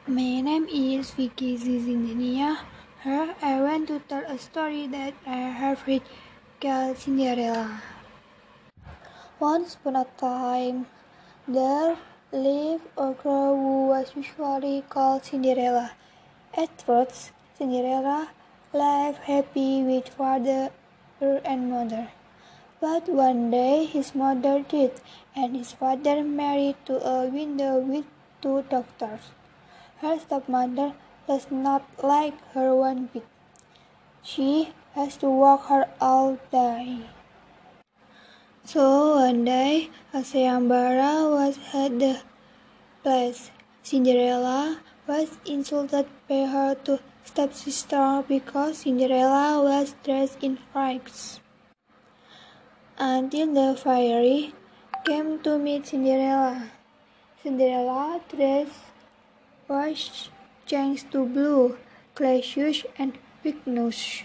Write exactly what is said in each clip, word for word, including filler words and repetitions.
My name is Vicky Zizindania. Here I want to tell a story that I have read called Cinderella. Once upon a time, there lived a girl who was usually called Cinderella. At first, Cinderella lived happy with father and mother. But one day his mother died, and his father married to a widow with two daughters. Her stepmother does not like her one bit. She has to work her all day. So one day, as sayembara was at the place, Cinderella was insulted by her two stepsisters because Cinderella was dressed in rags. Until the fairy came to meet Cinderella. Cinderella's dress was changed to blue, clay shoes, and big nose.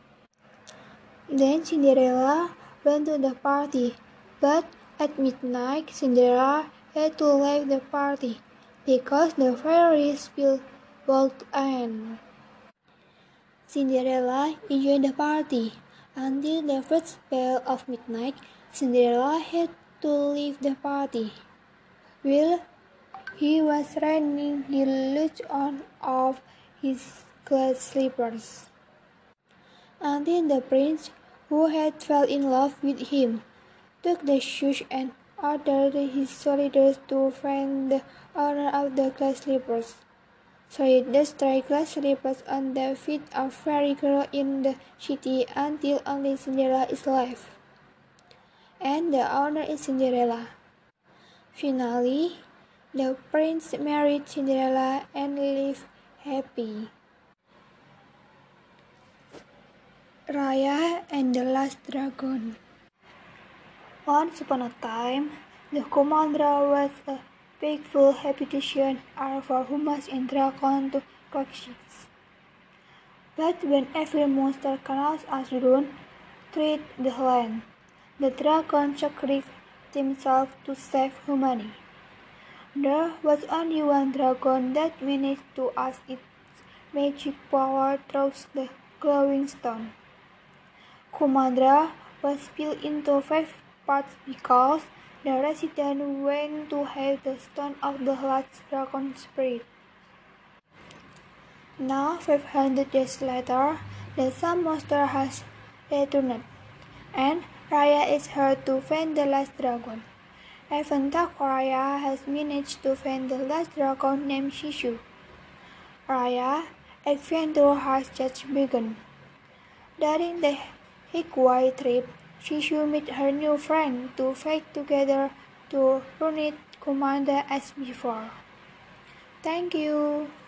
Then Cinderella went to the party, but at midnight Cinderella had to leave the party because the fairies will bolt in. Cinderella enjoyed the party until the first bell of midnight. Cinderella had to leave the party. While he was running, he looked on of his glass slippers until the prince, who had fell in love with him, took the shoes and ordered his soldiers to find the owner of the glass slippers. So he destroyed glass slippers on the feet of every girl in the city until only Cinderella is left, and the owner is Cinderella. Finally, the prince married Cinderella and lived happy. Raya and the Last Dragon. Once upon a time, the Kumandra was a faithful habitation for humans and dragons to coexist. But when every monster crossed Asrun treat the land, the dragon sacrificed himself to save humanity. There was only one dragon that managed to use its magic power through the glowing stone. Kumandra was split into five parts because the residents went to have the stone of the last dragon spirit. Now, five hundred years later, the sun monster has returned, and Raya is here to find the last dragon. Even though Raya has managed to find the last dragon named Shishu, Raya's adventure has just begun. During the Hikui trip, Shishu met her new friend to fight together to unite Kumandra as before. Thank you.